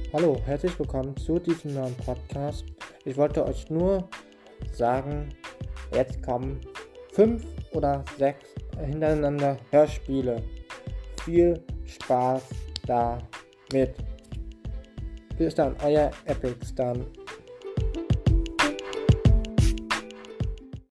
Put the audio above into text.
Hallo, herzlich willkommen zu diesem neuen Podcast. Ich wollte euch nur sagen, jetzt kommen 5 oder 6 hintereinander Hörspiele. Viel Spaß damit. Bis dann, euer Epic dann.